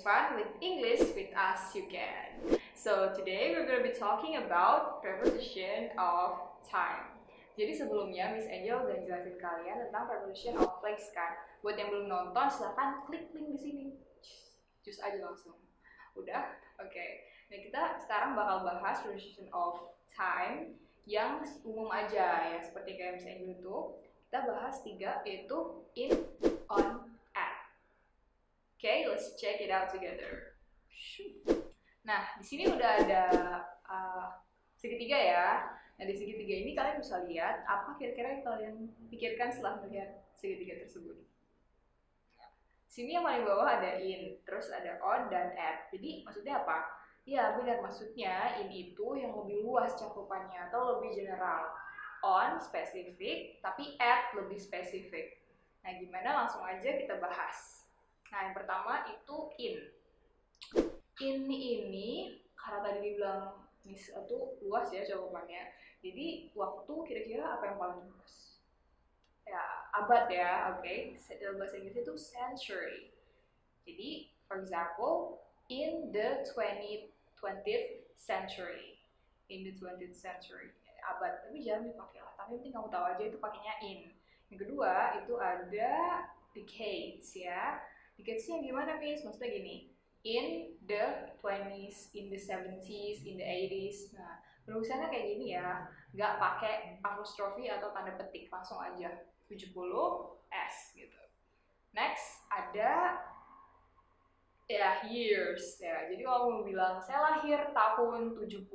fun with English with us you can. So today we're going to be talking about preposition of time. Jadi sebelumnya Miss Angel udah jelasin kalian tentang preposition of place kan. Buat yang belum nonton silahkan klik link di sini. Cus aja langsung. Udah? Oke. Nah kita sekarang bakal bahas preposition of time yang umum aja ya, seperti kayak Miss Angel itu. Kita bahas 3 yaitu in, on, at. Okay, let's check it out together. Nah, di sini udah ada segitiga ya. Nah, di segitiga ini kalian bisa lihat apa kira-kira yang kalian pikirkan setelah melihat segitiga tersebut. Sini yang paling bawah ada in, terus ada on dan at. Jadi maksudnya apa? Ya benar, maksudnya in itu yang lebih luas cakupannya atau lebih general. On spesifik, tapi at lebih spesifik. Nah, gimana? Langsung aja kita bahas. Nah, yang pertama itu in. In ini karena tadi dibilang itu luas ya cakupannya. Jadi waktu kira-kira apa yang paling luas? Ya, abad ya, oke. Dalam bahasa Inggris itu century. Jadi, for example, in the 20th century. In the 20th century. Abad, tapi jangan dipakai lah. Tapi penting kamu tahu aja itu pakainya in. Yang kedua, itu ada decades ya. Decades-nya gimana, Miss? Maksudnya gini, in the 20s, in the 70s, in the 80s. Nah, penulisannya kayak gini ya. Nggak pakai apostrofi atau tanda petik, langsung aja. 70s gitu. Next, ada ya years ya. Jadi kalau mau bilang saya lahir tahun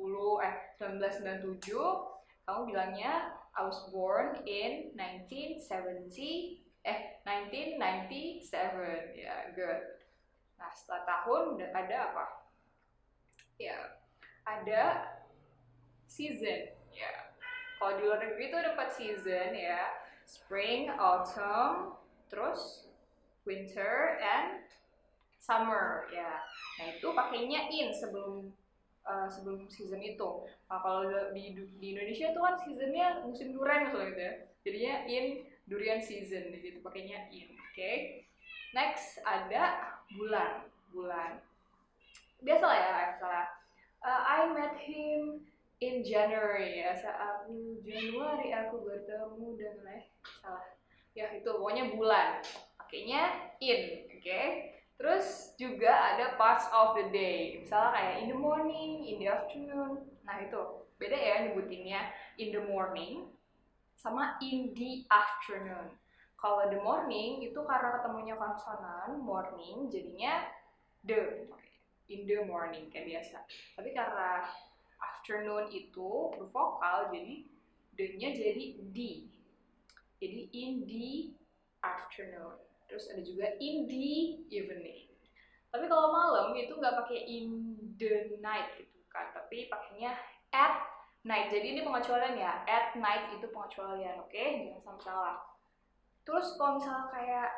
1997, kamu bilangnya I was born in 1997 ya, good. Nah, setelah tahun ada apa? Ya, ada season ya. Kalau di luar negeri itu ada 4 season ya. Spring, autumn, terus winter and summer ya. Nah, itu pakainya in sebelum season itu. Nah, kalau di Indonesia itu kan seasonnya musim durian misalnya gitu ya. Jadinya in durian season, jadi itu pakainya in. Oke. Next ada bulan. Biasa lah ya, misalnya I met him in January ya. Saat Januari aku bertemu dengan salah. Ya itu pokoknya bulan. Pakainya in, oke? Terus juga ada parts of the day. Misalnya kayak in the morning, in the afternoon. Nah, itu beda ya nyebutinnya in the morning sama in the afternoon. Kalau the morning itu karena ketemunya konsonan morning jadinya the, in the morning kayak biasa. Tapi karena afternoon itu bervokal jadi the-nya jadi d. Jadi in the afternoon. Terus ada juga in the evening. Tapi kalau malam itu nggak pakai in the night gitu kan, tapi pakainya at night. Jadi ini pengecualian ya, at night itu pengecualian, oke? Jangan sampai salah. Terus kalau misalnya kayak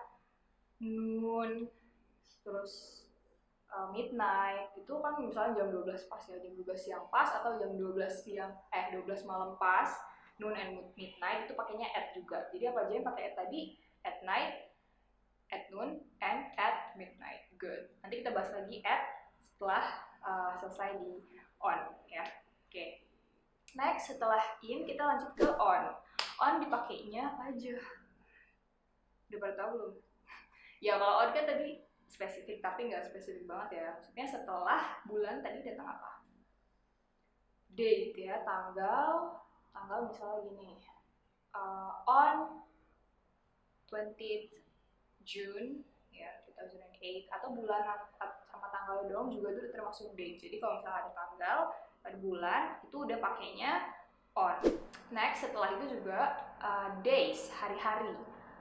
noon, terus midnight, itu kan misalnya jam 12 pas ya, jam 12 siang pas atau jam 12 malam pas, noon and midnight itu pakainya at juga. Jadi apa aja yang pakai at tadi? At night, at noon, and at midnight. Good. Nanti kita bahas lagi at setelah selesai di on ya. Oke. Next, setelah in kita lanjut ke on. On dipakainya apa aja? Udah pada tahu belum? Ya kalau on kan tadi spesifik, tapi nggak spesifik banget ya. Maksudnya setelah bulan tadi datang apa? Date ya, tanggal misalnya gini. On 20th June ya 2008, atau bulan sama tanggal doang juga itu termasuk date. Jadi kalau misalnya ada tanggal, ada bulan, itu udah pakainya on. Next, setelah itu juga days, hari-hari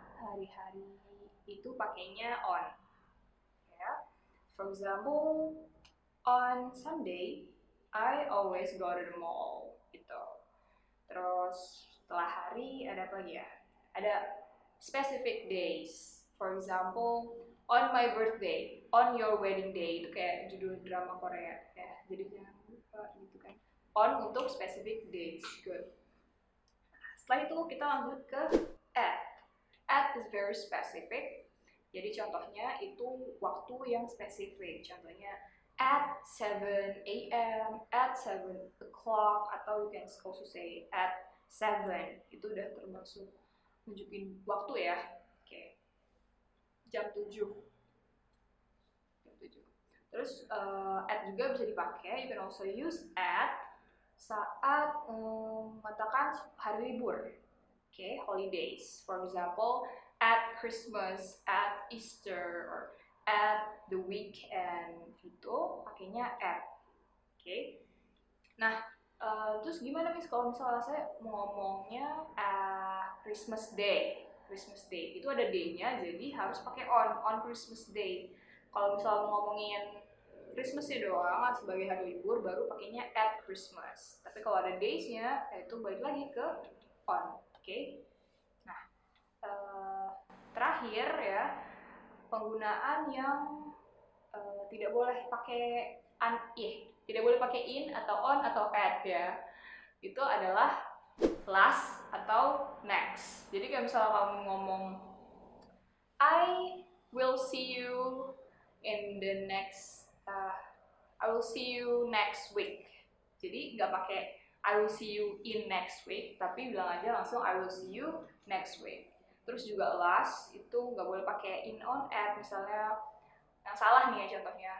itu pakainya on ya. For example, on Sunday I always go to the mall gitu. Terus setelah hari ada apa lagi ya? Ada specific days. For example, on my birthday, on your wedding day, itu kayak judul drama Korea ya. Jadi jangan lupa gitu kan. On untuk specific days. Good. Setelah itu kita lanjut ke at. At is very specific. Jadi contohnya itu waktu yang spesifik. Contohnya at 7 a.m., at 7 o'clock, atau you can also say at 7. Itu udah termasuk nunjukin waktu ya. Oke. Jam 7. Terus at juga bisa dipakai. You can also use at saat mengatakan hari libur. Okay, holidays. For example, at Christmas, at Easter, or at the weekend, gitu pakainya at. Okay. Nah, terus gimana Miss kalau misalnya saya mau ngomongnya Christmas Day? Christmas Day itu ada day-nya, jadi harus pakai on Christmas Day. Kalau misalnya mau ngomongin Christmas doang sebagai hari libur, baru pakainya at Christmas. Tapi kalau ada days-nya, itu balik lagi ke on. Oke. Nah, terakhir ya, penggunaan yang tidak boleh pakai tidak boleh pakai in atau on atau at ya. Itu adalah last atau next. Jadi kayak misalnya kamu ngomong I will see you in the next I will see you next week. Jadi nggak pakai I will see you in next week, tapi bilang aja langsung I will see you next week. Terus juga last itu nggak boleh pakai in on at, misalnya yang salah nih ya contohnya.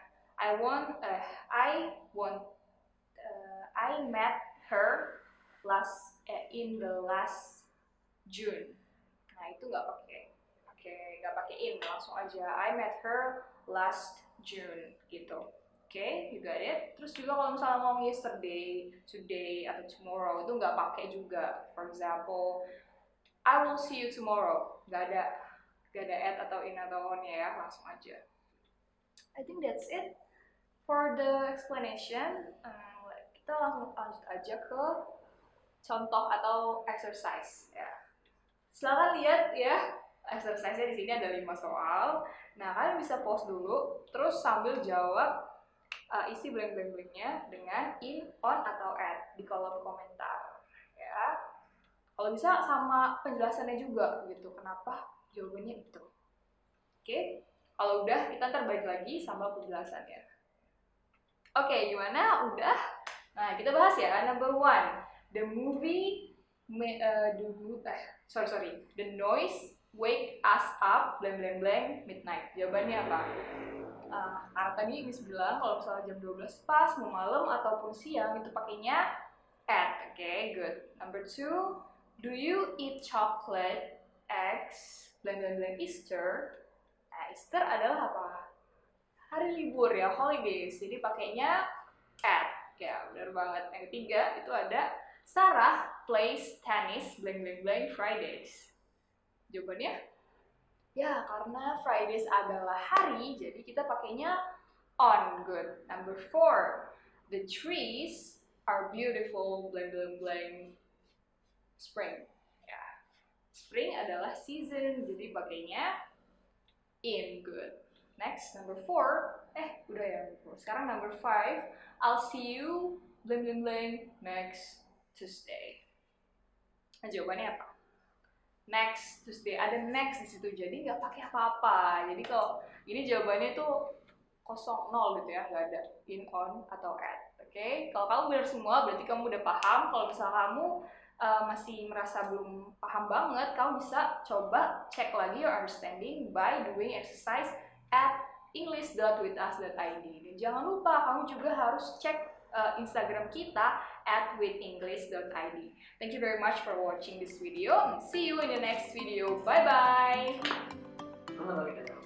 I met her in the last June. Nah itu nggak pakai in, langsung aja I met her last June gitu. Oke, you got it. Terus juga kalau misalnya ngomong yesterday, today, atau tomorrow itu nggak pakai juga. For example, I will see you tomorrow. Nggak ada at atau in atau on ya, langsung aja. I think that's it for the explanation. Kita langsung lanjut aja ke contoh atau exercise ya. Silakan lihat ya. Exercise-nya di sini ada 5 soal. Nah, kalian bisa pause dulu, terus sambil jawab isi blank-blanknya dengan in, on, atau at di kolom komentar ya. Kalau bisa sama penjelasannya juga gitu, kenapa jawabannya itu. Oke, kalau udah kita ntar balik lagi sama penjelasannya. Oke, gimana? Udah? Nah, kita bahas ya. Number 1, the noise wake us up blank blank blank midnight. Jawabannya apa? Karena tadi Miss bilang kalau misalnya jam 12 pas, mau malam ataupun siang itu pakainya at. Okay, good. Number 2, do you eat chocolate, eggs, blank blank blank Easter? Nah, Easter adalah apa? Hari libur ya, holidays. Jadi pakainya at. Ya, benar banget. Yang ketiga itu ada Sarah plays tennis blank blank blank Fridays. Jawabannya? Ya, karena Fridays adalah hari, jadi kita pakainya on. Good. Number 4, the trees are beautiful blank blank blank spring. Ya, spring adalah season, jadi pakainya in. Good. Next, number 4, udah ya. Sekarang number 5, I'll see you blank blank blank next Tuesday. Nah, jawabannya apa? Next Tuesday, ada next di situ, jadi nggak pakai apa-apa. Jadi kalau ini jawabannya tuh 0 gitu ya, nggak ada in, on, atau at. Oke, kalau kamu benar semua berarti kamu udah paham. Kalau misalnya kamu masih merasa belum paham banget, kamu bisa coba cek lagi your understanding by doing exercise at english.withus.id. Dan jangan lupa kamu juga harus cek Instagram kita at withenglish.id. Thank you very much for watching this video. See you in the next video. Bye bye.